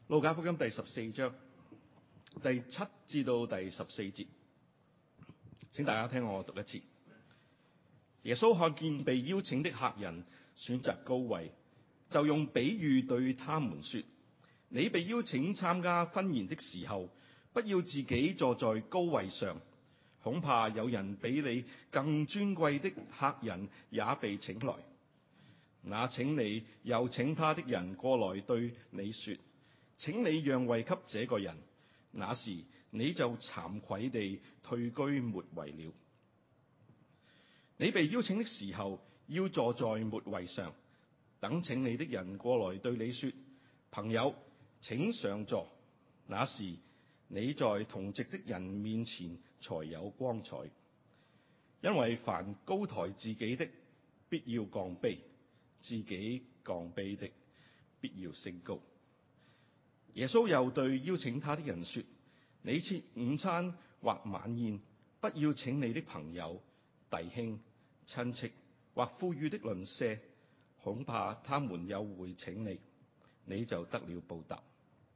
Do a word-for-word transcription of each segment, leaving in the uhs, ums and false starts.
路加福音第十四章第七至到第十四節，請大家聽我讀一次。耶穌看見被邀請的客人選擇高位，就用比喻對他們說：你被邀請參加婚宴的時候，不要自己坐在高位上，恐怕有人比你更尊貴的客人也被請來。那請你又請他的人過來對你說：請你讓位給這個人。那時你就慚愧地退居末位了。你被邀請的時候，要坐在末位上，等請你的人過來對你說：朋友，請上座。那時你在同席的人面前才有光彩。因為凡高抬自己的，必要降卑；自己降卑的，必要升高。耶穌又對邀請他的人說：你設午餐或晚宴，不要請你的朋友、弟兄、親戚或富裕的鄰舍，恐怕他們又會請你，你就得了報答。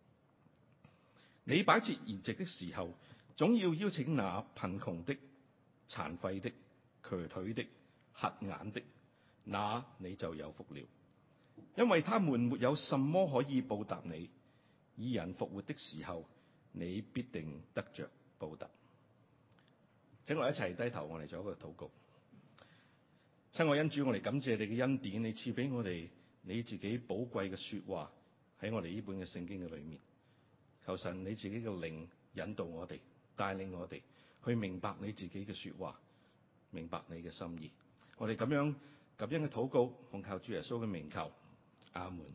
你擺設筵席的時候，總要邀請那貧窮的、殘廢的、瘸腿的、瞎眼的，那你就有福了，因為他們沒有什麼可以報答你。義人復活的時候，你必定得着報答。請我一齊低頭，我哋做一個禱告。親愛恩主，我哋感謝你嘅恩典，你賜俾我哋你自己寶貴嘅說話喺我哋呢本嘅聖經嘅裏面。求神你自己嘅靈引導我哋，帶領我哋去明白你自己嘅說話，明白你嘅心意。我哋咁樣咁樣嘅禱告，奉靠主耶穌嘅名求，阿門。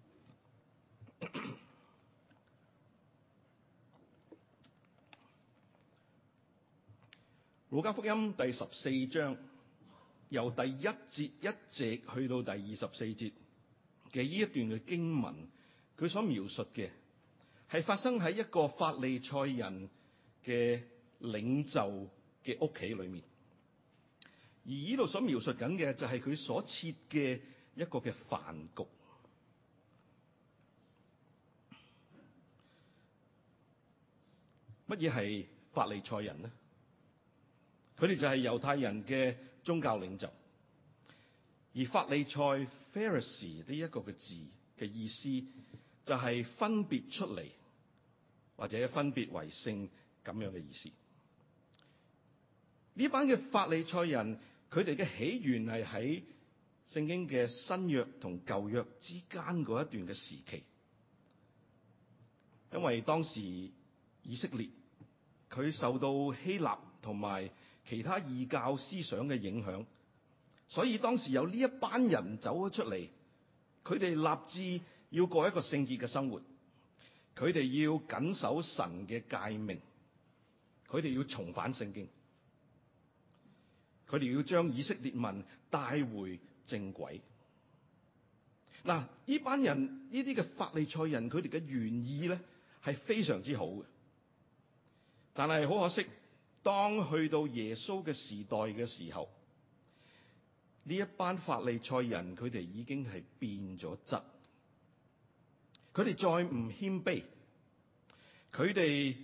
路加福音第十四章由第一節一直去到第二十四節嘅呢一段嘅經文，佢所描述嘅係發生喺一個法利賽人嘅領袖嘅屋企裏面，而呢度所描述緊嘅就係佢所設嘅一個嘅飯局。乜嘢係法利賽人呢？佢哋就係猶太人嘅宗教領袖，而法利賽 Pharisee 呢一個嘅字嘅意思就係分別出嚟，或者分別為聖咁樣嘅意思。呢班嘅法利賽人，佢哋嘅起源係喺聖經嘅新約同舊約之間嗰一段嘅時期，因為當時以色列佢受到希臘同埋其他異教思想嘅影響，所以當時有呢一班人走咗出嚟，佢哋立志要過一個聖潔嘅生活，佢哋要謹守神嘅誡命，佢哋要重返聖經，佢哋要將以色列民帶回正軌。嗱，呢班人呢啲嘅法利賽人，佢哋嘅原意咧係非常之好嘅，但係好可惜，當去到耶穌嘅時代嘅時候，呢一班法利賽人佢哋已經係變咗質，佢哋再唔謙卑，佢哋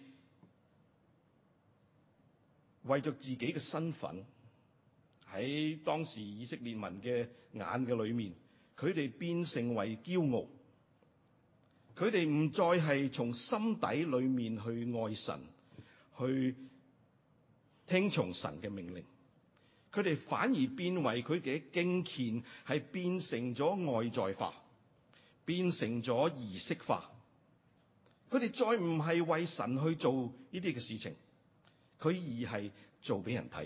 為咗自己嘅身份喺當時以色列民嘅眼嘅裏面，佢哋變成為驕傲，佢哋唔再係從心底裏面去愛神，去聽從神嘅命令，佢哋反而變為佢哋嘅敬虔係變成咗外在化，變成咗儀式化。佢哋再唔係為神去做呢啲嘅事情，佢而係做俾人睇。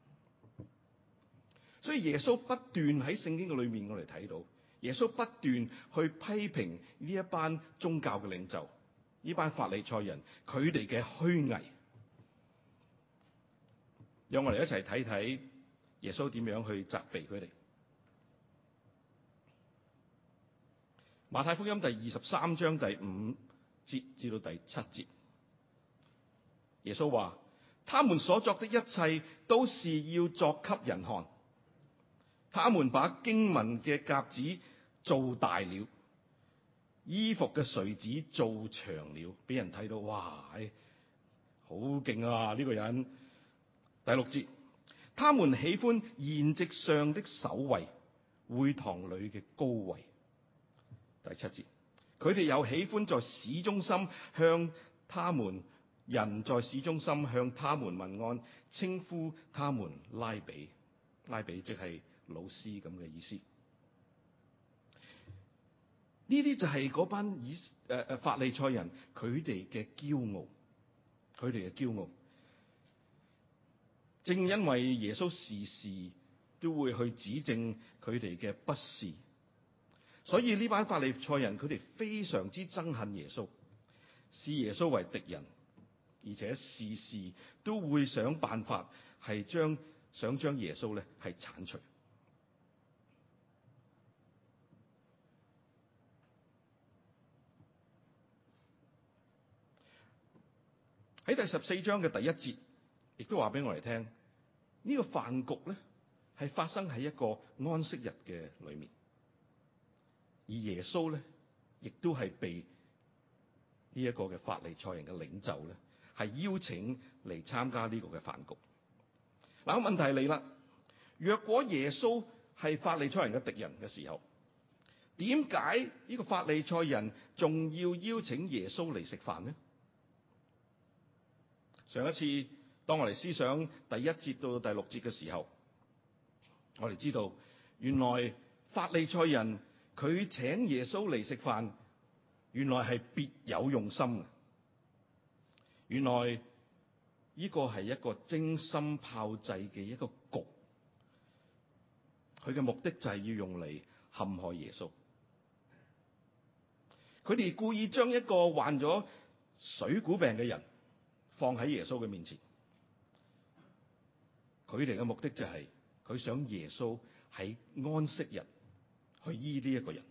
所以耶穌不斷喺聖經嘅裏面，我哋睇到耶穌不斷去批評呢一班宗教嘅領袖，呢班法利賽人佢哋嘅虛偽。讓我哋一齊睇睇耶穌點樣去責備佢哋。馬太福音第二十三章第五節至到第七節，耶穌話：他們所作的一切都是要作給人看，他們把經文嘅鴿子做大了， 衣服嘅垂子做長了，俾人睇到，哇！好勁啊！呢、這個人。第六節，他們喜歡筵席上的首位，會堂裏嘅高位。第七節，佢哋又喜歡在市中心向他們人在市中心向他們問安，稱呼他們拉比，拉比即係老師咁嘅意思。呢啲就係嗰班以誒誒法利賽人佢哋嘅驕傲，佢哋嘅驕傲。正因為耶穌時時都會去指正佢哋嘅不是，所以呢班法利賽人佢哋非常之憎恨耶穌，視耶穌為敵人，而且時時都會想辦法係將想將耶穌咧係剷除。喺第十四章嘅第一節，亦都話俾我哋聽，呢個飯局咧係發生喺一個安息日嘅裏面，而耶穌咧亦都係被呢一個嘅法利賽人嘅領袖咧係邀請嚟參加呢個嘅飯局。嗱，問題嚟啦，若果耶穌係法利賽人嘅敵人嘅時候，點解呢個法利賽人仲要邀請耶穌嚟食飯呢？上一次當我哋思想第一節到第六節嘅時候，我哋知道原來法利賽人佢請耶穌嚟食飯，原來係別有用心嘅。原來呢個係一個精心炮製嘅一個局，佢嘅目的就係要用嚟陷害耶穌。佢哋故意將一個患咗水臌病嘅人放喺耶穌嘅面前，佢哋嘅目的就係佢想耶穌喺安息日去醫呢一個人。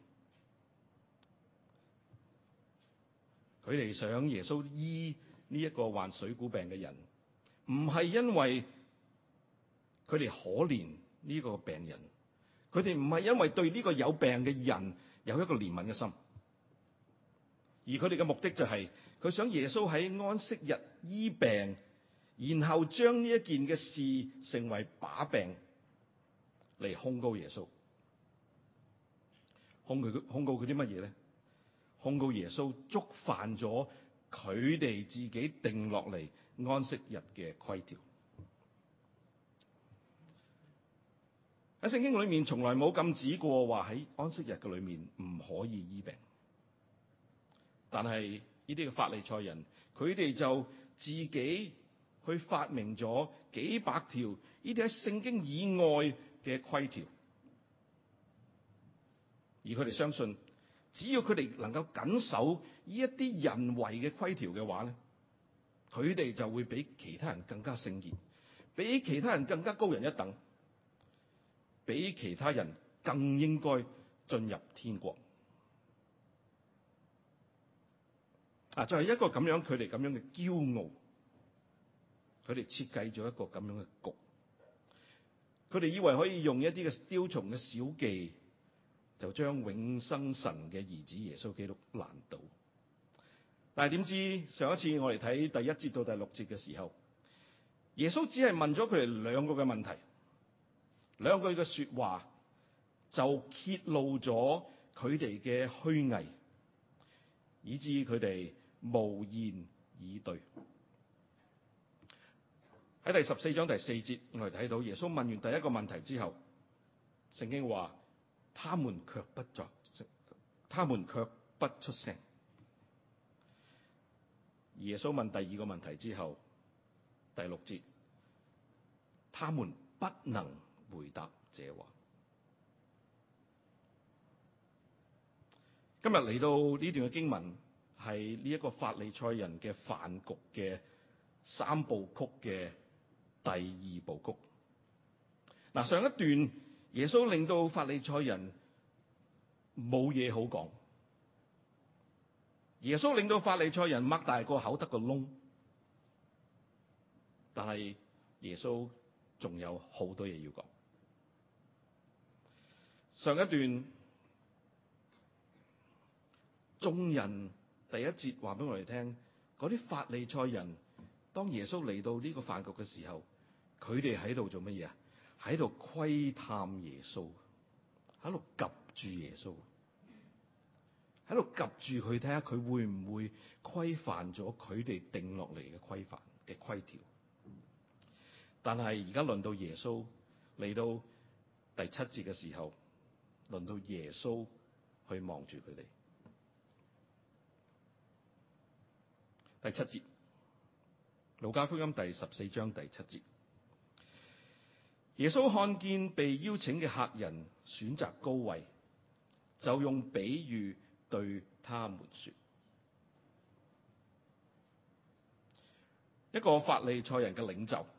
佢哋想耶穌醫呢一個患水臌病嘅人，唔係因為佢哋可憐呢個病人，佢哋唔係因為對呢個有病嘅人有一個憐憫嘅心，而佢哋嘅目的就係佢想耶穌喺安息日醫病，然後將呢一件嘅事成為把柄嚟控告耶穌。控佢控告佢啲乜嘢咧？控告耶穌觸犯咗佢哋自己定落嚟安息日嘅規條。喺聖經裏面從來冇禁止過話喺安息日嘅裏面唔可以醫病，但係呢啲嘅法利賽人，佢哋就自己去發明咗幾百條呢啲喺聖經以外嘅規條，而佢哋相信，只要佢哋能夠謹守呢一啲人為嘅規條嘅話咧，佢哋就會比其他人更加聖潔，比其他人更加高人一等，比其他人更應該進入天國。啊，就係、是、一個咁樣佢哋咁樣嘅驕傲，佢哋設計咗一個咁樣嘅局，佢哋以為可以用一啲嘅雕蟲嘅小技，就將永生神嘅兒子耶穌基督難倒。但係點知上一次我哋睇第一節到第六節嘅時候，耶穌只係問咗佢哋兩個嘅問題，兩句嘅說話就揭露咗佢哋嘅虛偽，以致佢哋無言以對。喺第十四章第四節，我哋睇到耶穌問完第一個問題之後，聖經話他們卻不作聲，他們卻不出聲。耶穌問第二個問題之後，第六節，他們不能回答這話。今日嚟到呢段嘅經文，係呢一個法利賽人嘅飯局嘅三部曲嘅第二部曲。嗱，上一段耶穌令到法利賽人冇嘢好講，耶穌令到法利賽人擘大個口得個窿，但係耶穌仲有好多嘢要講。上一段眾人第一節話俾我哋聽，嗰啲法利賽人當耶穌嚟到呢個飯局嘅時候，佢哋喺度做乜嘢啊？喺度窺探耶穌，喺度 𥄫 住耶穌，喺度 𥄫 住佢睇下佢會唔會規範咗佢哋定落嚟嘅規範嘅規條。但係而家輪到耶穌嚟到第七節嘅時候，輪到耶穌去望住佢哋。第七節，路加福音第十四章第七節，耶穌看見被邀請嘅客人選擇高位，就用比喻對他們說。一個法利賽人嘅領袖，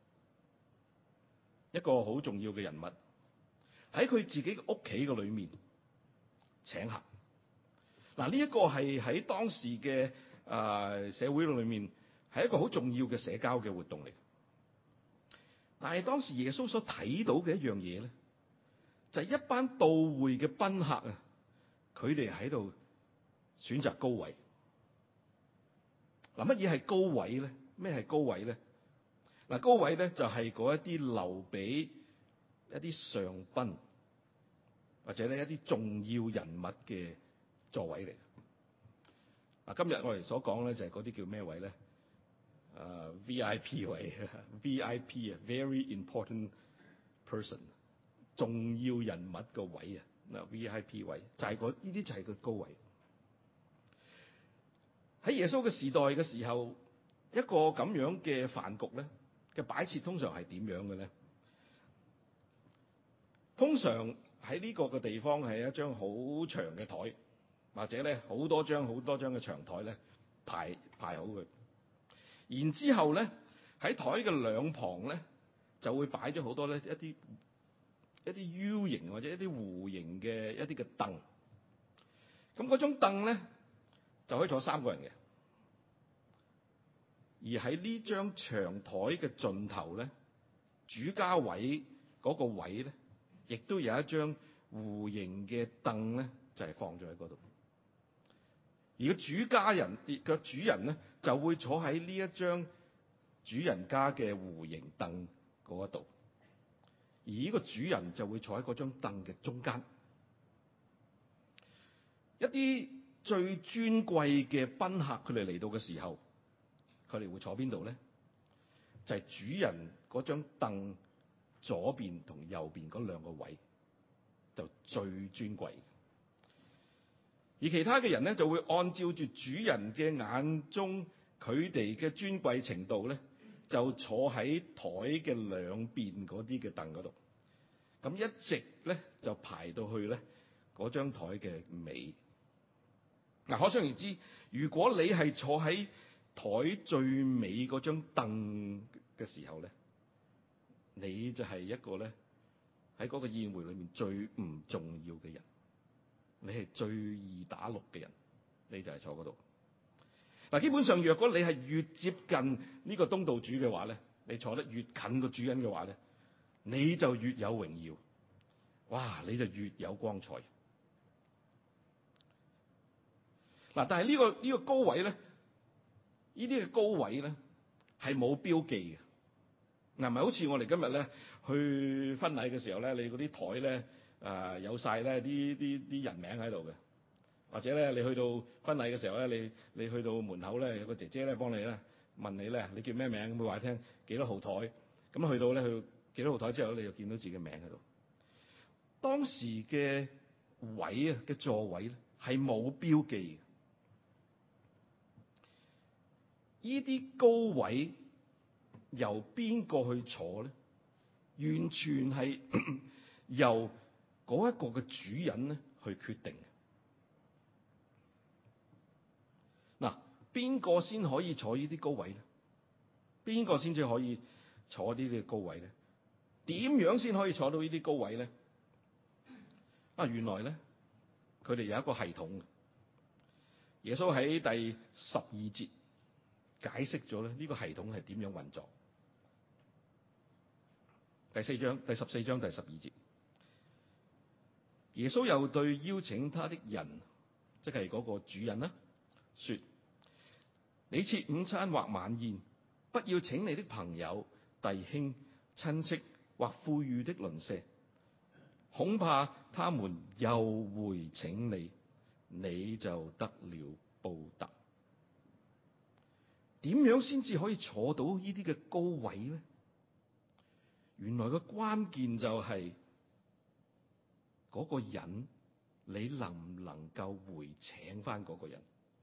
一個好重要嘅人物，喺佢自己嘅屋企嘅裏面請客。嗱，呢一個係喺當時嘅啊、呃、社會裏面係一個好重要嘅社交嘅活動嚟。但係當時耶穌所睇到嘅一樣嘢咧，就係、是、一班到會嘅賓客啊，佢哋喺度選擇高位。嗱，乜嘢係高位咧？咩係高位咧？嗱，高位咧就係嗰一啲留俾一啲上賓或者咧一啲重要人物嘅座位嚟。嗱，今日我哋所講咧就係嗰啲叫咩位咧？誒、uh, V I P 位，V I P 啊，very important person， 重要人物個位啊，嗱 V I P 位就係嗰呢啲就係個高位。喺耶穌嘅時代嘅時候，一個咁樣嘅飯局咧嘅擺設通常係點樣嘅咧？通常喺呢個嘅地方係一張好長嘅台，或者咧好多張好多張嘅長台咧排排好佢。然之後咧喺台嘅兩旁咧就會擺咗好多咧一啲一啲 U 型或者一啲弧形嘅一啲嘅凳。咁嗰張凳咧就可以坐三個人嘅。而喺呢張長台嘅盡頭咧，主家位嗰個位咧，亦都有一張弧形嘅凳咧，就係、是、放咗喺嗰度。而個主家人嘅主人咧，就會坐喺呢一張主人家嘅弧形凳嗰一度，而呢個主人就會坐喺嗰張凳嘅中間。一啲最尊貴嘅賓客，佢哋嚟到嘅時候，佢哋會坐邊度咧？就係、是、主人嗰張凳左邊同右邊嗰兩個位，就最尊貴。而其他嘅人咧，就會按照住主人嘅眼中佢哋嘅尊貴程度咧，就坐喺台嘅兩邊嗰啲嘅凳嗰度。咁一直咧就排到去咧嗰張台嘅尾。嗱，可想而知，如果你係坐喺台最尾嗰張凳嘅時候咧，你就係一個咧喺嗰個宴會裏面最唔重要嘅人。你係最易打六嘅人，你就係坐嗰度。嗱，基本上若果你係越接近呢個東道主嘅話咧，你坐得越近個主人嘅話咧，你就越有榮耀，哇！你就越有光彩。嗱，但係呢個呢個高位咧，呢啲嘅高位咧係冇標記嘅。嗱，唔係好似我哋今日咧去婚禮嘅時候咧，你嗰啲台咧。誒、呃、有晒咧啲啲啲人名喺度嘅，或者咧你去到婚禮嘅時候咧，你你去到門口咧有個姐姐咧幫你咧問你咧你叫咩名，咁會話你聽幾多號台，咁去到咧去幾多號台之後咧，你就見到自己嘅名喺度。當時嘅位啊嘅座位咧係冇標記嘅，依啲高位由邊個去坐咧？完全係由嗰一個嘅主人咧去決定。嗱，邊個先可以坐呢啲高位咧？邊個先至可以坐呢啲高位咧？點樣先可以坐到呢啲高位咧？啊，原來咧佢哋有一個系統嘅。耶穌喺第十二節解釋咗咧呢個系統係點樣運作。第四章第十四章第十二節。耶穌又對邀請他的人即係嗰個主人啦，說：你設午餐或晚宴，不要請你的朋友、弟兄、親戚或富裕的鄰舍，恐怕他們又會請你，你就得了報答。點樣先至可以坐到呢啲嘅高位呢？原來個關鍵就係嗰個人，你能唔能夠回請翻嗰個人？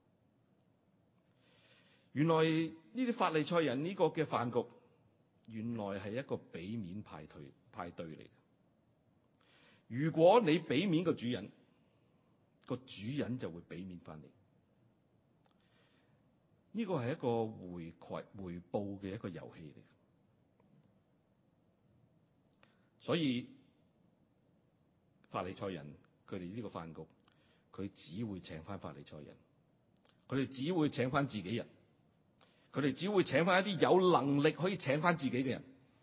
原來呢啲法利賽人呢個嘅飯局，原來係一個俾面派對派對嚟嘅。如果你俾面個主人，個主人就會俾面翻你。呢個係一個回饋回報嘅一個遊戲嚟。所以法利賽人佢哋呢個飯局，佢只會請翻法利賽人，佢哋只會請翻自己人，佢哋只會請翻一啲有能力可以請翻自己嘅人。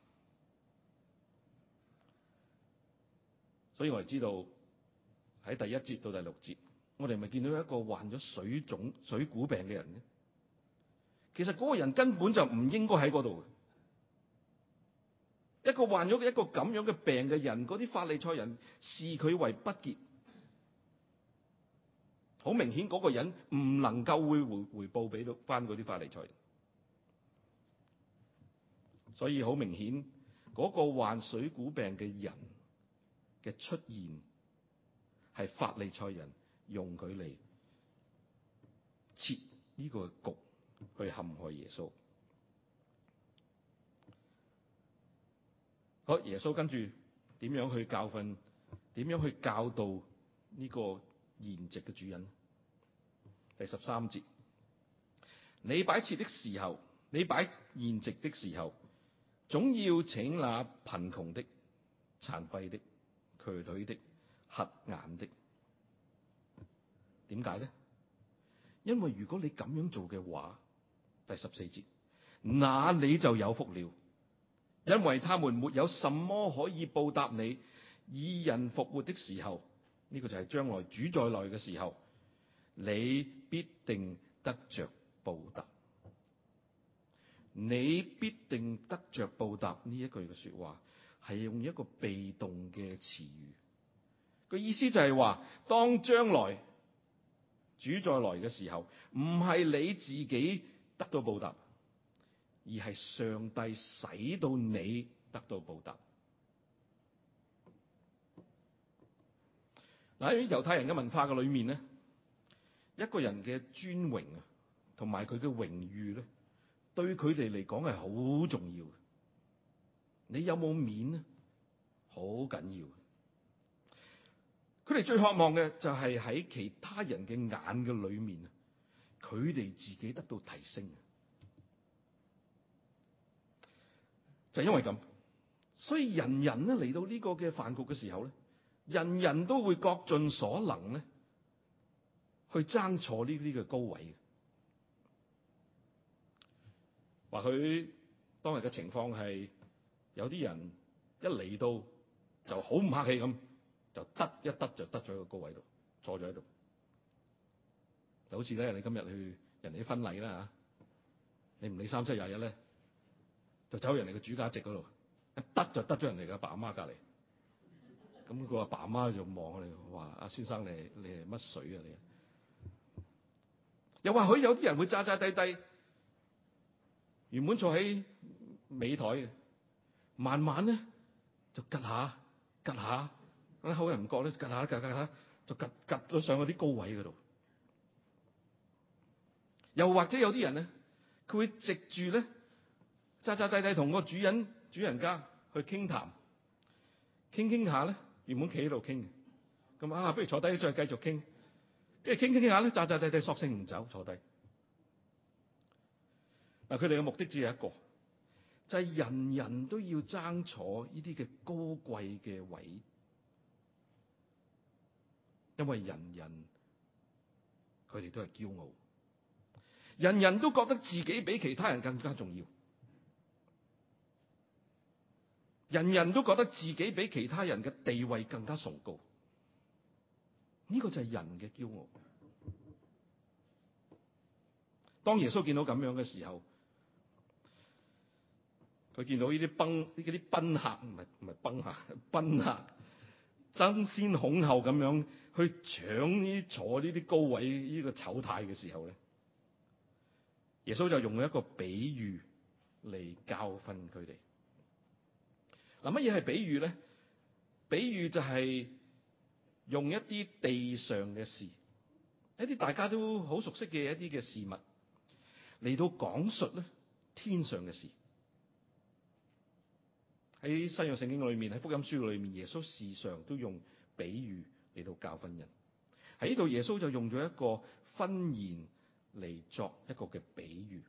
所以我哋知道喺第一節到第六節，我哋咪見到一個患咗水腫水臌病嘅人咧。其實嗰個人根本就唔應該喺嗰度。一個患咗一個咁樣嘅病嘅人，嗰啲法利賽人視佢為不潔，好明顯嗰個人唔能夠會回回報俾到翻嗰啲法利賽人。所以好明顯，嗰個患水臌病嘅人嘅出現係法利賽人用佢嚟設呢個局去陷害耶穌。好，耶穌跟住點樣去教訓，點樣去教導呢個筵席嘅主人？第十三節，你擺設的時候，你擺筵席的時候，總要請那貧窮的、殘廢的、瘸腿的、瞎眼的。點解呢？因為如果你咁樣做嘅話，第十四節，那你就有福了。因為他們沒有什麼可以報答你，以人復活的時候，呢、這個就係將來主再來嘅時候，你必定得着報答。你必定得着報答呢一句嘅說話，係用一個被動嘅詞語。個意思就係話，當將來主再來嘅時候，唔係你自己得到報答，而係上帝使到你得到報答。嗱，喺猶太人嘅文化嘅裏面咧，一個人嘅尊榮啊，同埋佢嘅榮譽咧，對佢哋嚟講係好重要嘅。你有冇面咧？好緊要。佢哋最渴望嘅就係喺其他人嘅眼嘅裏面，佢哋自己得到提升。就係因為咁，所以人人咧嚟到呢個嘅飯局嘅時候咧，人人都會各盡所能咧，去爭坐呢啲嘅高位嘅。或許當日嘅情況係有啲人一嚟到就好唔客氣咁，就得一得就得咗喺個高位度坐咗喺度，就好似咧你今日去人哋啲婚禮啦嚇，你唔理三七廿一咧，就走人哋嘅主家席嗰度，一得就得咗人哋嘅阿爸阿媽隔離。咁個阿爸阿媽就望你話：阿先生，你你係乜水啊你？又或許有啲人會詐詐諦諦，原本坐喺尾台嘅，慢慢咧就趌下趌下，嗰啲後人唔覺咧，趌下趌下就趌趌到上嗰啲高位嗰度。又或者有啲人咧，佢會藉住咧詐詐諦諦同個主人主人家去傾談，傾傾下咧，原本企喺度傾嘅，咁啊不如坐低再繼續傾，跟住傾傾下咧，詐詐諦諦索性唔走坐低。嗱，佢哋嘅目的只有一個，就係、是、人人都要爭坐呢啲嘅高貴嘅位，因為人人佢哋都係驕傲，人人都覺得自己比其他人更加重要，人人都覺得自己比其他人嘅地位更加崇高，呢、這個就係人嘅驕傲。 當耶穌見到咁樣嘅時候，佢見到呢啲賓呢啲賓客，唔係唔係賓客，賓客爭先恐後咁樣去搶呢坐呢啲高位呢個醜態嘅時候咧，耶穌就用一個比喻嚟教訓佢哋。嗱，乜嘢係比喻咧？比喻就係用一啲地上嘅事，一啲大家都好熟悉嘅一啲嘅事物嚟到講述咧天上嘅事。喺新約聖經裏面，喺福音書裏面，耶穌時常都用比喻嚟到教訓人。喺呢度，耶穌就用咗一個婚宴嚟作一個嘅比喻。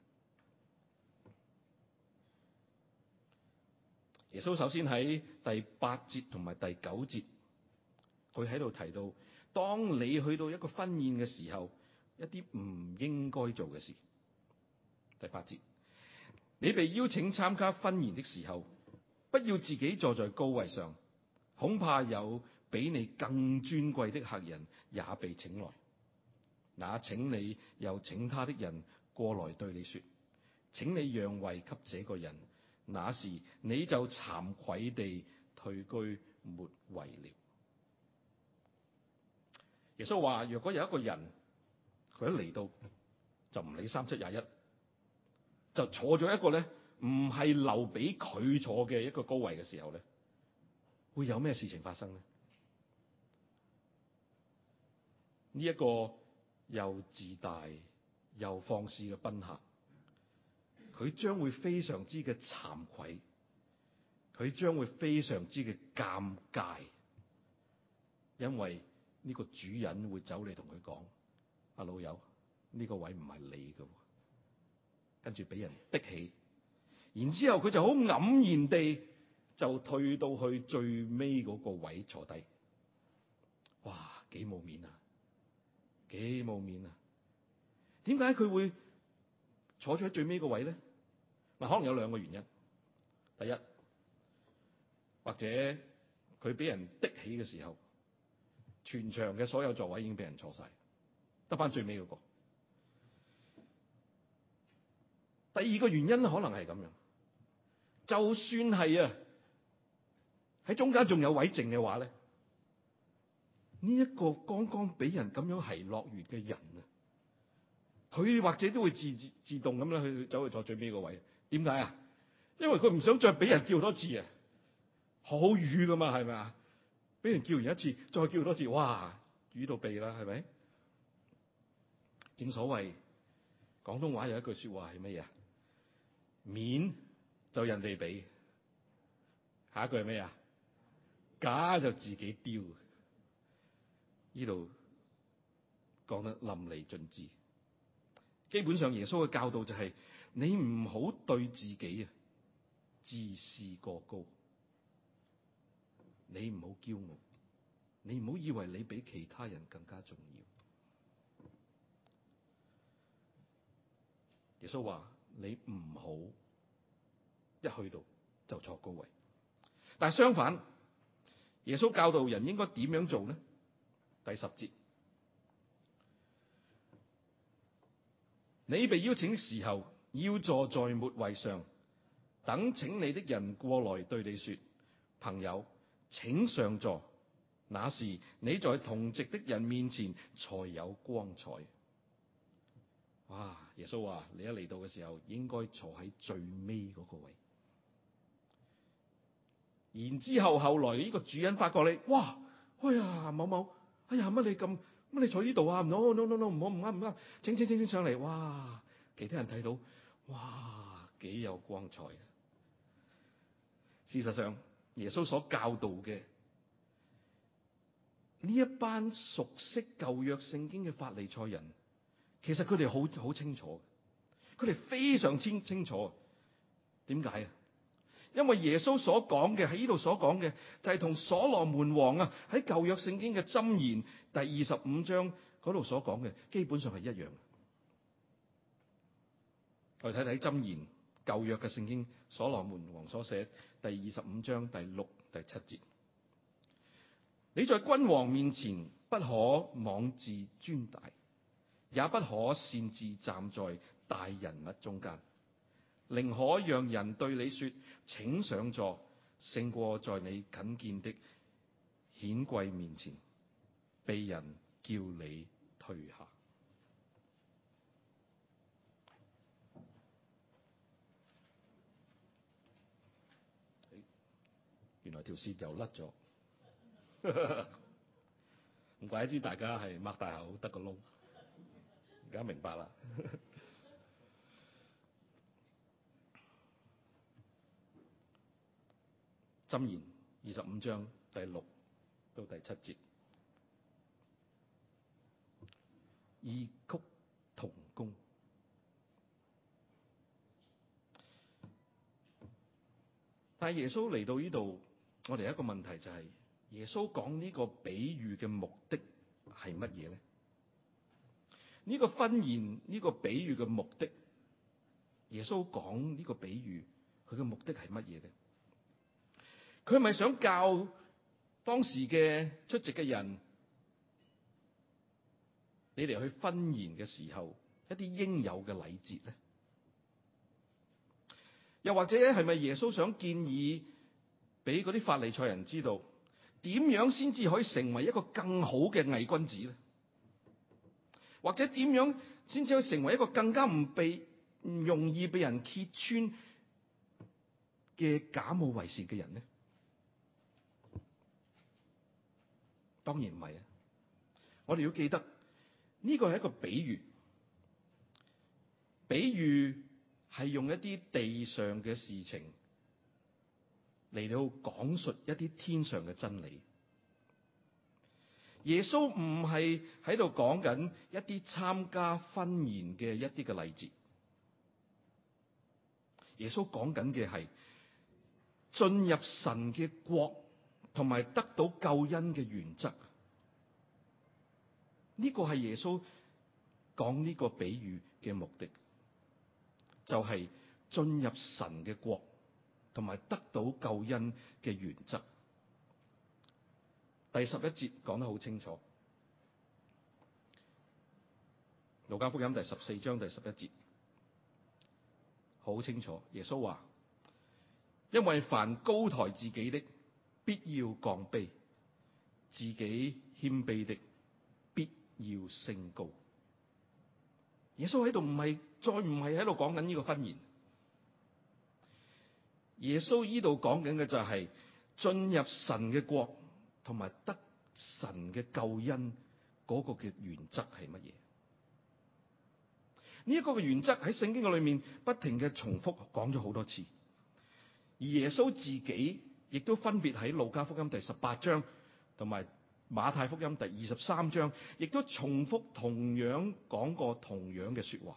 耶穌首先喺第八節同埋第九節，佢喺度提到，當你去到一個婚宴嘅時候，一啲唔應該做嘅事。第八節，你被邀請參加婚宴的時候，不要自己坐在高位上，恐怕有比你更尊貴的客人也被請來。那請你又請他的人過來對你說，請你讓位給這個人。那時你就慚愧地退居末位了。耶穌話：若果有一個人，佢一嚟到就唔理三七廿一，就坐咗一個咧唔係留俾佢坐嘅一個高位嘅時候咧，會有咩事情發生咧？呢一個又自大又放肆嘅賓客，佢將會非常之嘅慚愧，佢將會非常之嘅尷尬，因為呢個主人會走嚟同佢講：阿老友，呢個位唔係你嘅。跟住俾人逼起，然之後佢就好黯然地就退到去最尾嗰個位坐低。哇，幾冇面啊！幾冇面啊！點解佢會坐咗喺最尾個位咧？嗱，可能有兩個原因。第一，或者佢俾人逼起嘅時候，全場嘅所有座位已經俾人坐晒，得翻最尾嗰個。第二個原因可能係咁樣，就算係啊喺中間仲有位剩嘅話咧，呢一個剛剛俾人咁樣奚落完嘅人啊，佢或者都會自自自動咁樣去走去坐最尾個位。點解啊？因為佢唔想再俾人叫多次啊，好瘀噶嘛，係咪啊？俾人叫完一次，再叫多次，哇，瘀到痹啦，係咪？正所謂廣東話有一句說話係乜嘢啊？面就人哋俾，下一句係咩啊？假就自己丟。呢度講得淋漓盡致。基本上耶穌嘅教導就係、是、你唔好對自己啊自視過高，你唔好驕傲，你唔好以為你比其他人更加重要。耶穌話你唔好一去到就坐高位，但係相反，耶穌教導人應該點樣做呢？第十節，你被邀請的時候，要坐在末位上，等請你的人過來對你說：朋友，請上座。那時你在同席的人面前才有光彩。哇！耶穌話你一嚟到嘅時候，應該坐喺最尾嗰個位。然之後後來呢個主人發覺你，哇！哎呀，某某，哎呀，乜你咁乜你坐呢度啊 ？no no no no，唔好唔啱唔啱，請請請請上嚟。哇！其他人睇到，哇，幾有光彩啊！事實上，耶穌所教導嘅呢一班熟悉舊約聖經嘅法利賽人，其實佢哋好好清楚，佢哋非常清清楚。點解啊？因為耶穌所講嘅喺呢度所講嘅就係同所羅門王啊喺舊約聖經嘅箴言第二十五章嗰度所講嘅基本上係一樣。我哋睇睇箴言舊約嘅聖經所羅門王所寫第二十五章第六第七節：你在君王面前不可妄自尊大，也不可擅自站在大人物中間，寧可讓人對你說請上座，勝過在你覲見的顯貴面前被人叫你退下。原來條線又甩咗，唔怪之大家係擘大口得個窿，而家明白啦。箴言二十五章第六到第七節，異曲同工。但係耶穌嚟到呢度，我哋有一個問題就係、是、耶穌講呢個比喻嘅目的係乜嘢咧？呢、這個婚宴呢個比喻嘅目的，耶穌講呢個比喻佢嘅目的係乜嘢咧？佢係咪想教當時嘅出席嘅人，你哋去婚宴嘅時候一啲應有嘅禮節咧？又或者係咪耶穌想建議俾嗰啲法利賽人知道，點樣先至可以成為一個更好嘅偽君子咧？或者點樣先至可以成為一個更加唔被唔容易被人揭穿嘅假冒為善嘅人咧？當然唔係啊！我哋要記得呢個係一個比喻，比喻係用一啲地上嘅事情嚟到講述一啲天上嘅真理。耶穌唔係喺度講緊一啲參加婚宴嘅一啲嘅禮節，耶穌講緊嘅係進入神嘅國同埋得到救恩嘅原則。呢個係耶穌講呢個比喻嘅目的，就係進入神嘅國同埋得到救恩嘅原則。第十一節講得好清楚，路加福音第十四章第十一節好清楚，耶穌話：因為凡高抬自己的，必要降卑；自己謙卑的，必要升高。耶穌喺度唔係再唔係喺度講緊呢個婚宴，耶穌呢度講緊嘅就係進入神嘅國同埋得神嘅救恩嗰個嘅原則係乜嘢？呢一個嘅原則喺聖經嘅裏面不停嘅重複講咗好多次，而耶穌自己亦都分別喺路加福音第十八章同埋馬太福音第二十三章，亦都重複同樣講過同樣嘅說話。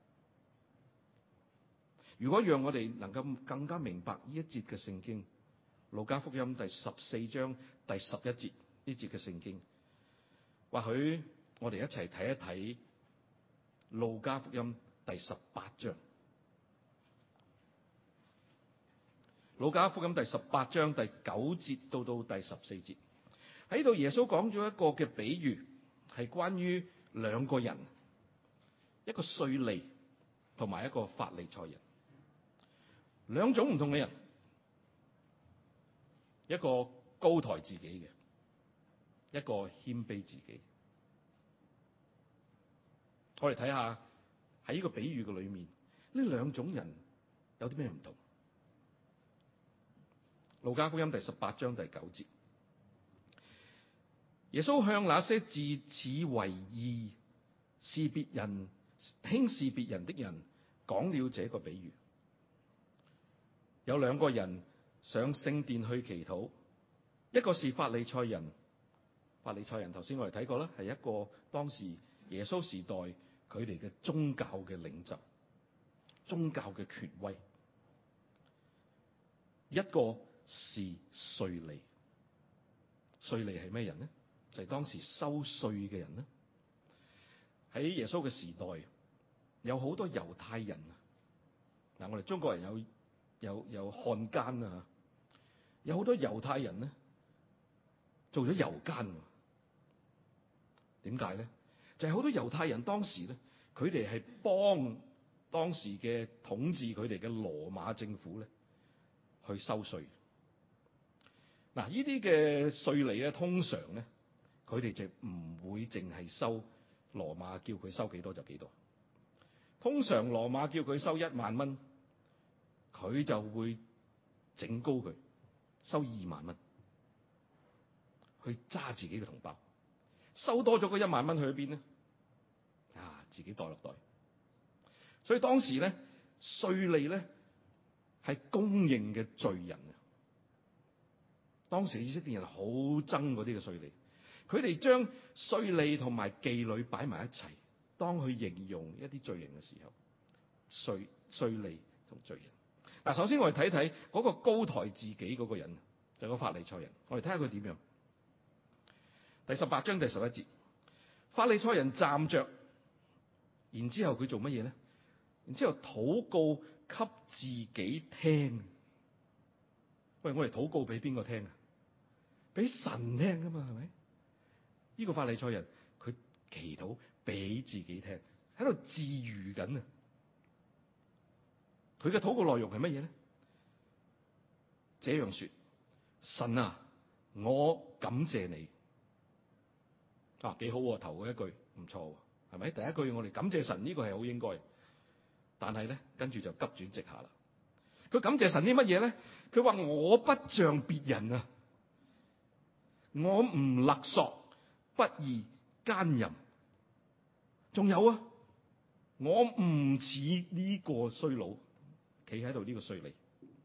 如果讓我哋能夠更加明白呢一節嘅聖經，路加福音第十四章第十一節呢節嘅聖經，或許我哋一齊睇一睇路加福音第十八章。路加福音第十八章第九節到到第十四節，喺度耶穌講咗一個嘅比喻，係關於兩個人，一個稅吏同埋一個法利賽人，兩種唔同嘅人，一個高抬自己嘅，一個謙卑自己。我哋睇下喺呢個比喻嘅裏面，呢兩種人有啲咩唔同？路加福音第十八章第九節，耶穌向那些自恃為義、視別人輕視別人的人講了這個比喻。有兩個人上聖殿去祈禱，一個是法利賽人，法利賽人頭先我哋睇過啦，係一個當時耶穌時代佢哋嘅宗教嘅領袖、宗教嘅權威。一個是稅吏，稅吏係咩人呢？就係當時收稅嘅人啦。喺耶穌嘅時代，有好多猶太人啊。嗱，我哋中國人有有有漢奸啊，有好多猶太人咧做咗猶奸。點解咧？就係好多猶太人當時咧，佢哋係幫當時嘅統治佢哋嘅羅馬政府咧去收稅。嗱，呢啲嘅稅吏咧，通常咧佢哋就唔會淨係收羅馬叫佢收幾多就幾多。通常羅馬叫佢收一萬蚊，佢就會整高佢收二萬蚊，去揸自己嘅同胞。收多咗嗰一萬蚊去咗邊咧？啊，自己袋落袋。所以當時咧，稅吏咧係公認嘅罪人啊！當時以色列人好憎嗰啲嘅稅吏，佢哋將稅吏同埋妓女擺埋一齊，當佢形容一啲罪人嘅時候，稅稅吏同罪人。嗱，首先我哋睇睇嗰個高抬自己嗰個人，就係個法利賽人。我哋睇下佢點樣。第十八章第十一節，法利賽人站着，然之後佢做乜嘢咧？然之後禱告給自己聽。喂，我哋禱告俾邊個聽啊？俾神聽噶嘛，係咪？呢個法利賽人佢祈禱俾自己聽，喺度自娛緊啊！佢嘅禱告內容係乜嘢咧？這樣說：神啊，我感謝你。啊，幾好喎！頭嗰一句唔錯，係咪？第一句我哋感謝神，呢個係好應該。但係咧，跟住就急轉直下啦。佢感謝神啲乜嘢咧？佢話我不像別人啊，我唔勒索，不義奸淫。仲有啊，我唔似呢個衰佬，企喺度呢個衰吏。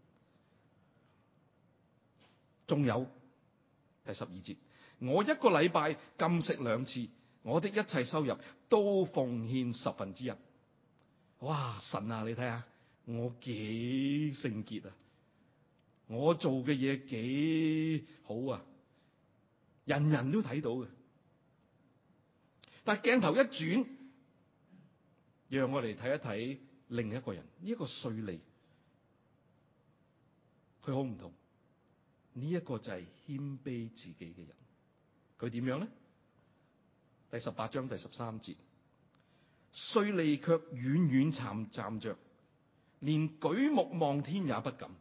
仲有第十二節，我一個禮拜禁食兩次，我的一切收入都奉獻十分之一。哇！神啊，你睇下我幾聖潔啊，我做嘅嘢幾好啊，人人都睇到嘅。但係鏡頭一轉，讓我哋睇一睇另一個人，呢一個稅吏，佢好唔同。呢一個就係謙卑自己嘅人。佢點樣咧？第十八章第十三節，稅吏卻遠遠站站着，連舉目望天也不敢。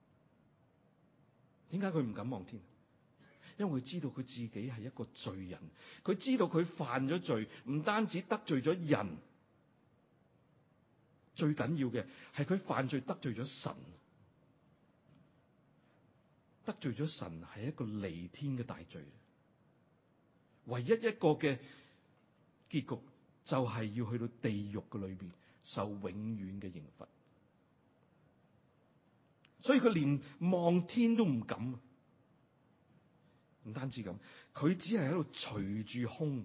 點解佢唔敢望天？因為佢知道佢自己係一個罪人，佢知道佢犯咗罪，唔單止得罪咗人，最緊要嘅係佢犯罪得罪咗神。得罪咗神係一個彌天嘅大罪，唯一一個嘅結局就係要去到地獄嘅裏邊受永遠嘅刑罰。所以佢連望天都唔敢。唔單止咁，佢只係喺度捶住胸。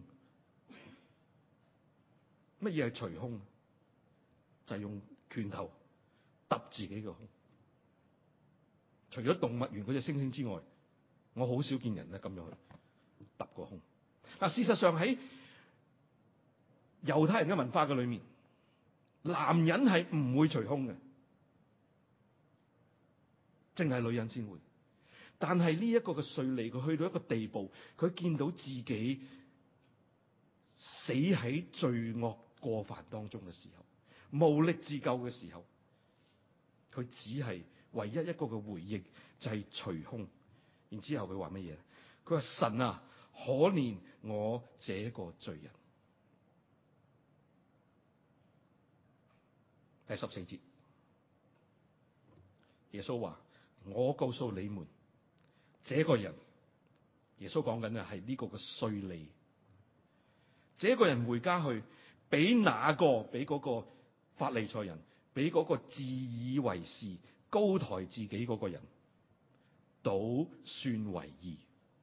乜嘢係捶胸？就係用拳頭揼自己個胸。除咗動物園嗰隻猩猩之外，我好少見人咧咁樣去揼個胸。嗱，事實上喺猶太人嘅文化嘅裏面，男人係唔會捶胸嘅，淨係女人先會。但係呢一個嘅稅吏，佢去到一個地步，佢見到自己死喺罪惡過犯當中嘅時候，無力自救嘅時候，佢只係唯一一個嘅回應就係捶胸。然之後佢話乜嘢？佢話神啊，可憐我這個罪人。第十四節，耶穌話：我告訴你們，這個人，耶穌講緊嘅係呢個嘅稅吏。這個人回家去，比那個比嗰個法利賽人，比嗰個自以為是高抬自己嗰個人，倒算為義。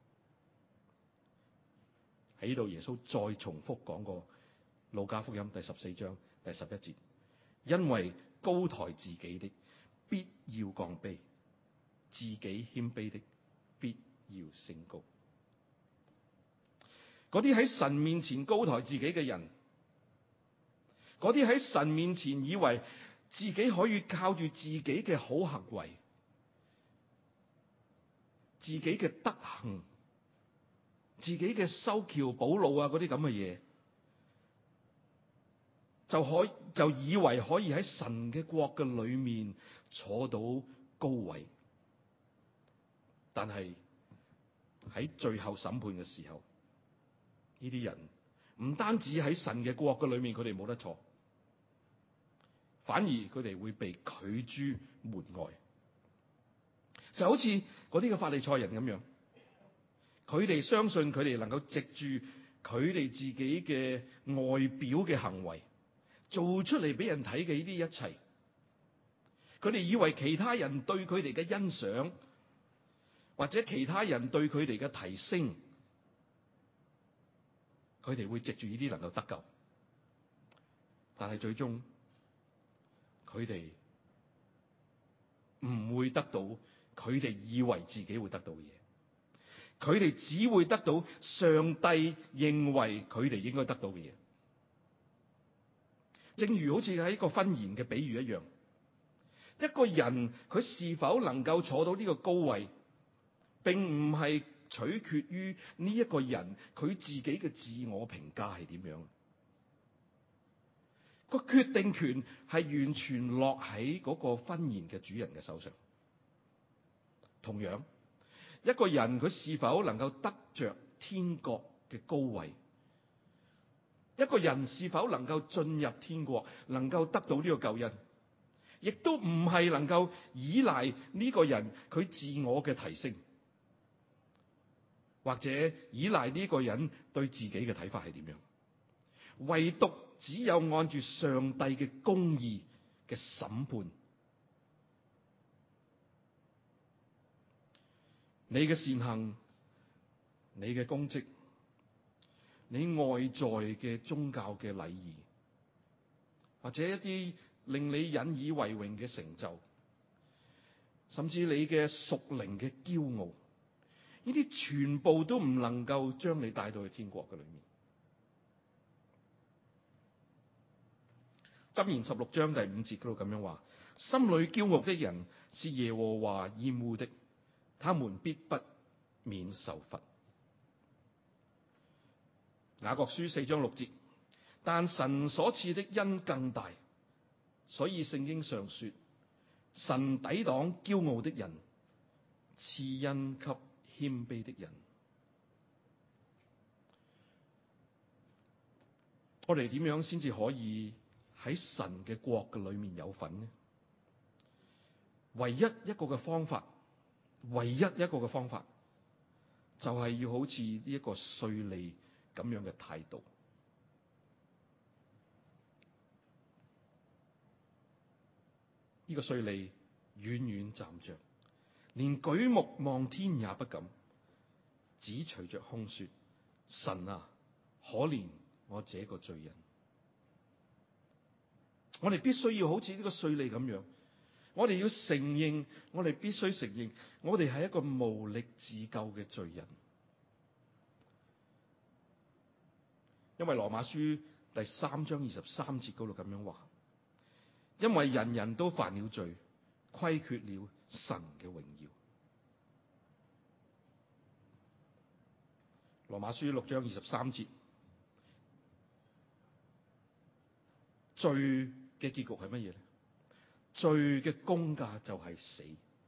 喺呢度耶穌再重複講過路加福音第十四章第十一節，因為高抬自己的，必要降卑；自己謙卑的，必要升高。嗰啲喺神面前高抬自己嘅人，嗰啲喺神面前以為自己可以靠住自己嘅好行為、自己嘅德行、自己嘅修橋補路啊嗰啲咁嘅嘢， 就可就以為可以喺神嘅國嘅裏面坐到高位，但係喺最後審判嘅時候，呢啲人唔單止喺神嘅國嘅裏面佢哋冇得坐，反而佢哋會被拒諸門外。就好似嗰啲嘅法利賽人咁樣，佢哋相信佢哋能夠藉住佢哋自己嘅外表嘅行為做出嚟俾人睇嘅呢啲一切，佢哋以為其他人對佢哋嘅欣賞，或者其他人對佢哋嘅提升，佢哋會藉住呢啲能夠得救，但係最終佢哋唔會得到佢哋以為自己會得到嘅嘢，佢哋只會得到上帝認為佢哋應該得到嘅嘢。正如好似喺一個婚宴嘅比喻一樣，一個人佢是否能夠坐到呢個高位，並唔係取決於呢一個人佢自己嘅自我評價係點樣。個決定權係完全落喺嗰個婚宴嘅主人嘅手上。同樣，一個人佢是否能夠得着天國嘅高位，一個人是否能夠進入天國，能夠得到呢個救恩，亦都唔係能夠依賴呢個人佢自我嘅提升，或者依賴呢個人對自己嘅睇法係點樣。唯獨只有按住上帝嘅公義嘅審判，你嘅善行，你嘅功績，你外在嘅宗教嘅禮儀，或者一啲令你引以為榮嘅成就，甚至你嘅屬靈嘅驕傲，呢啲全部都唔能夠將你帶到去天國嘅裏面。箴言十六章第五節嗰度咁樣話：心裏驕傲的人是耶和華厭惡的，他們必不免受罰。雅各書四章六節：但神所賜的恩更大，所以聖經上說，神抵擋驕傲的人，賜恩給謙卑的人。我哋點樣先至可以喺神嘅國嘅裏面有份呢？唯一一個嘅方法，唯一一個嘅方法，就係要好似呢一個稅吏咁樣嘅態度。呢個稅吏遠遠站着，連舉目望天也不敢，只隨着空說：神啊，可憐我這個罪人。我哋必須要好似呢個稅吏咁樣，我哋要承認，我哋必須承認，我哋係一個無力自救嘅罪人。因為羅馬書第三章二十三節嗰度咁樣話：因為人人都犯了罪，虧缺了神嘅榮耀。羅馬書六章二十三節，罪嘅結局係乜嘢咧？罪嘅工價就係死。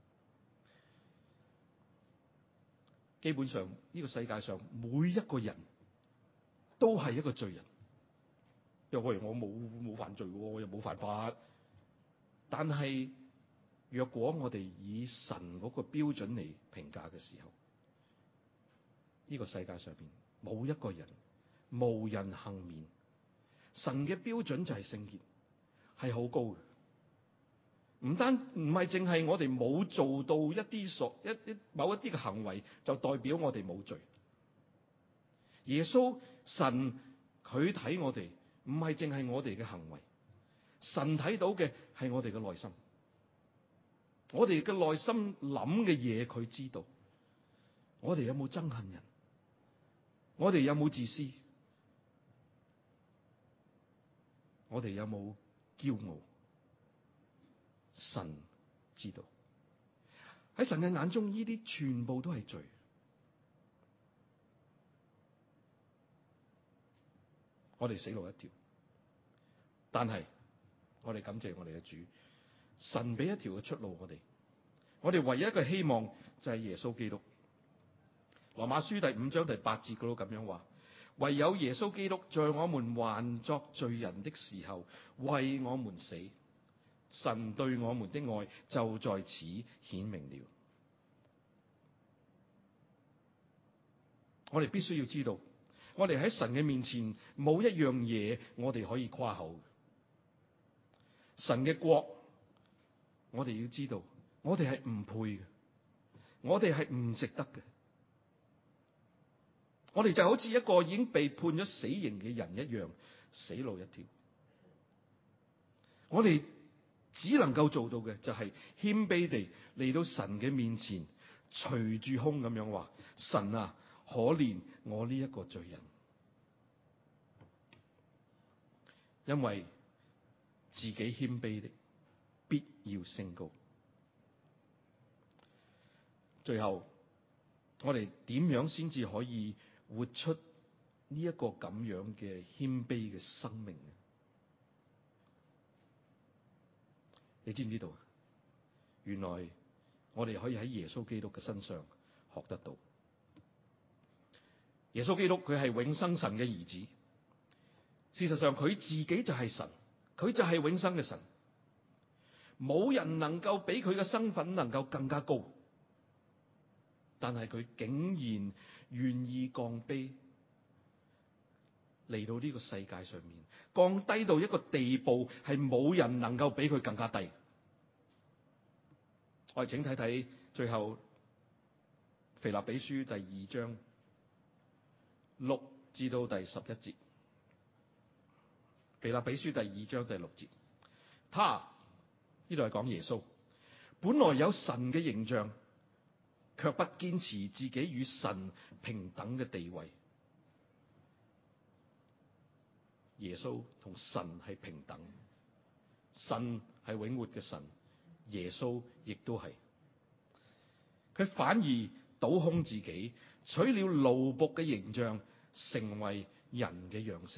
基本上呢個世界上每一個人都係一個罪人。又喂，我冇冇犯罪，我又冇犯法。但係若果我哋以神嗰個標準嚟評價嘅時候，呢個世界上邊冇一個人無人幸免。神嘅標準就係聖潔，係好高嘅。唔單唔係淨係我哋冇做到一啲所一啲某一啲嘅行為，就代表我哋冇罪。耶穌神佢睇我哋，唔係淨係我哋嘅行為，神睇到嘅係我哋嘅內心。我哋嘅內心諗嘅嘢，佢知道。我哋有冇憎恨人？我哋有冇自私？我哋有冇驕傲？神知道。喺神嘅眼中，呢啲全部都係罪。我哋死路一條。 但係我哋感謝我哋嘅主，神俾一條嘅出路我哋。我哋唯一嘅希望就係耶穌基督。羅馬書第五章第八節嗰度咁樣話：唯有耶穌基督在我們還作罪人的時候為我們死，神對我們的愛就在此顯明了。我哋必須要知道，我哋喺神嘅面前冇一樣嘢我哋可以誇口。神嘅國，我哋要知道，我哋係唔配嘅，我哋係唔值得嘅。我哋就好似一個已經被判咗死刑嘅人一樣，死路一條。我哋只能夠做到嘅就係謙卑地嚟到神嘅面前，捶住胸咁樣話：神啊，可憐我呢一個罪人。因為自己謙卑的，必要升高。最後，我哋點樣先至可以活出呢一個咁樣嘅謙卑嘅生命呢？你知唔知道？原來我哋可以喺耶穌基督嘅身上學得到。耶穌基督佢係永生神嘅兒子，事實上佢自己就係神，佢就係永生嘅神。冇人能夠比佢嘅身份能夠更加高，但係佢竟然願意降卑嚟到呢個世界上面，降低到一個地步，係冇人能夠比佢更加低。我哋請睇睇最後腓立比書第二章六至到第十一節。腓立比書第二章第六節，他呢度係講耶穌，本來有神嘅形象，卻不堅持自己與神平等嘅地位。耶穌同神係平等，神係永活嘅神，耶穌亦都係。佢反而倒空自己，取了奴僕嘅形象，成為人嘅樣式。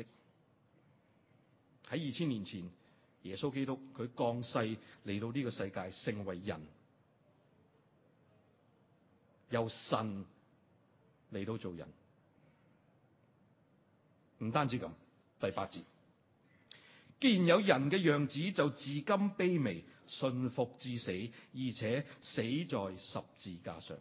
喺二千年前，耶穌基督佢降世嚟到呢個世界，成為人，由神嚟到做人。唔單止咁，第八節，既然有人嘅樣子，就至今卑微，順服至死，而且死在十字架上。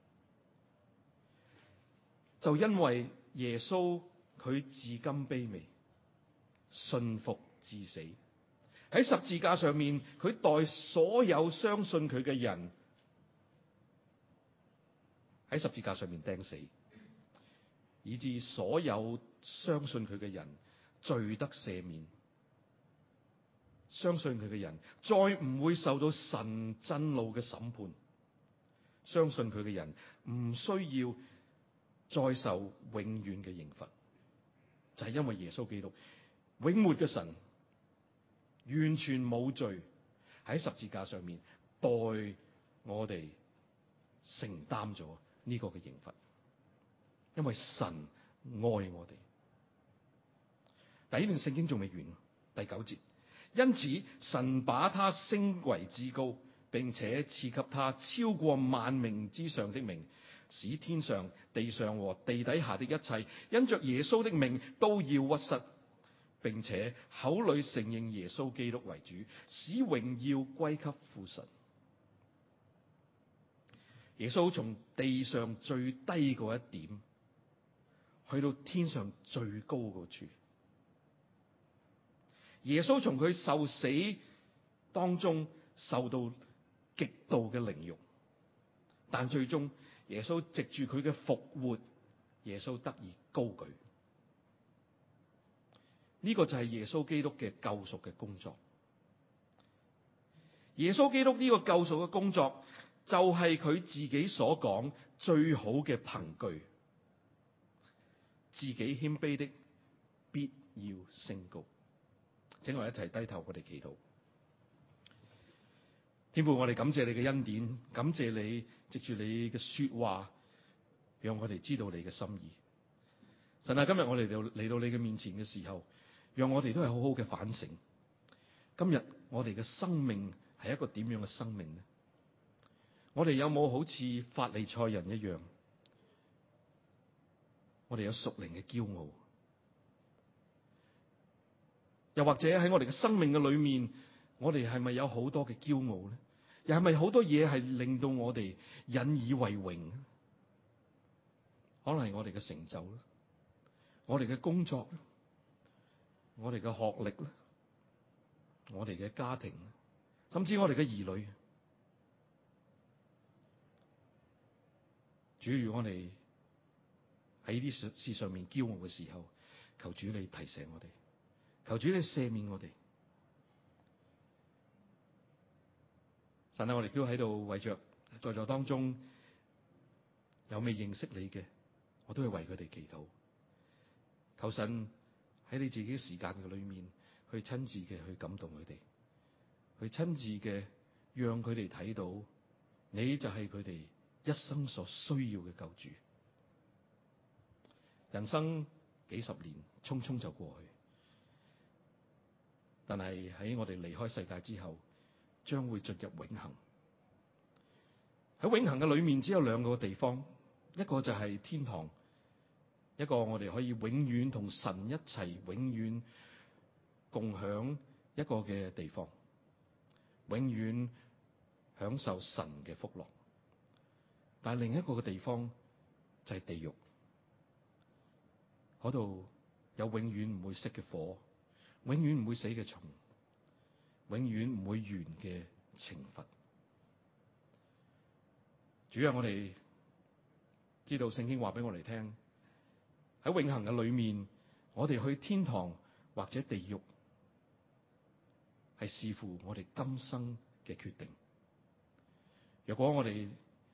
就因為耶穌佢至今卑微，順服至死，喺十字架上面，佢代所有相信佢嘅人喺十字架上面釘死，以致所有相信佢嘅人罪得赦免，相信佢嘅人再唔會受到神震怒嘅審判，相信佢嘅人唔需要再受永遠嘅刑罰，就係因為耶穌基督永活嘅神，完全冇罪，喺十字架上面代我哋承擔咗呢個嘅刑罰，因為神愛我哋。但呢段聖經仲未完，第九節，因此神把他升為至高，並且賜給他超過萬名之上的名，使天上、地上和地底下的一切因着耶穌的名都要屈膝，並且口裏承認耶穌基督為主，使榮耀歸給父神。耶穌從地上最低嗰一點，去到天上最高嗰處。耶穌從佢受死當中受到極度嘅凌辱，但最終耶穌藉住佢嘅復活，耶穌得以高舉。呢個就係耶穌基督嘅救贖嘅工作。耶穌基督呢個救贖嘅工作，就係佢自己所講最好嘅憑據。自己謙卑的，必要升高。請我一齊低頭，我哋祈禱。天父，我哋感謝你嘅恩典，感謝你藉住你嘅說話，讓我哋知道你嘅心意。神啊，今日我哋嚟到嚟到你嘅面前嘅時候，讓我哋都係好好嘅反省。 今日我哋嘅生命係一個點樣嘅生命呢？我哋有冇好似法利賽人一樣，我哋有屬靈嘅驕傲？又或者喺我哋嘅生命嘅裏面，我哋係咪有好多嘅驕傲咧？又係咪好多嘢係令到我哋引以為榮？可能係我哋嘅成就啦，我哋嘅工作啦，我哋嘅學歷啦，我哋嘅家庭，甚至我哋嘅兒女。主要我哋喺呢啲事上面驕傲嘅時候，求主你提醒我哋，求主你赦免我哋。神啊，我哋都喺度為着在座當中有未認識你嘅，我都係為佢哋祈禱。求神喺你自己嘅時間嘅裏面，去親自嘅去感動佢哋，去親自嘅讓佢哋睇到，你就係佢哋一生所需要嘅救主。人生幾十年匆匆就過去，但係喺我哋離開世界之後，將會進入永恆。喺永恆嘅裏面，只有兩個地方，一個就係天堂，一個我哋可以永遠同神一齊，永遠共享一個嘅地方，永遠享受神嘅福樂。但係另一個嘅地方就係地獄，嗰度有永遠唔會熄嘅火，永遠唔會死嘅蟲，永遠唔會完嘅懲罰。主啊，我哋知道聖經話俾我哋聽，喺永恆嘅裏面，我哋去天堂或者地獄，係視乎我哋今生嘅決定。若果我哋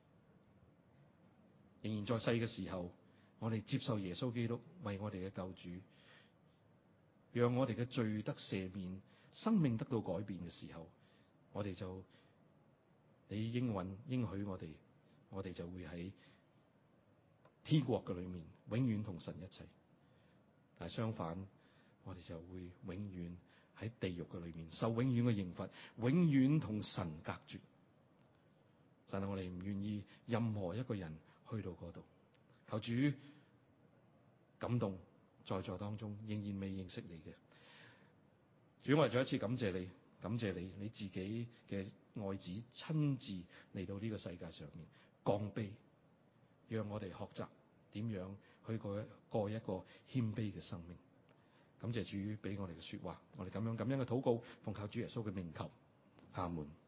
仍然在世嘅時候，我哋接受耶穌基督為我哋嘅救主，讓我哋嘅罪得赦免，生命得到改變嘅時候，我哋就你應允應許我哋，我哋就會喺天國嘅裏面永遠同神一齊。但係相反，我哋就會永遠喺地獄嘅裏面受永遠嘅刑罰，永遠同神隔絕。神啊，我哋唔願意任何一個人去到嗰度。求主感動在座當中仍然未認識你嘅主，我哋再一次感謝你，感謝你你自己嘅愛子親自嚟到呢個世界上面降卑，讓我哋學習點樣去過過一個謙卑嘅生命。感謝主俾我哋嘅說話，我哋咁樣咁樣嘅禱告，奉靠主耶穌嘅名求，阿門。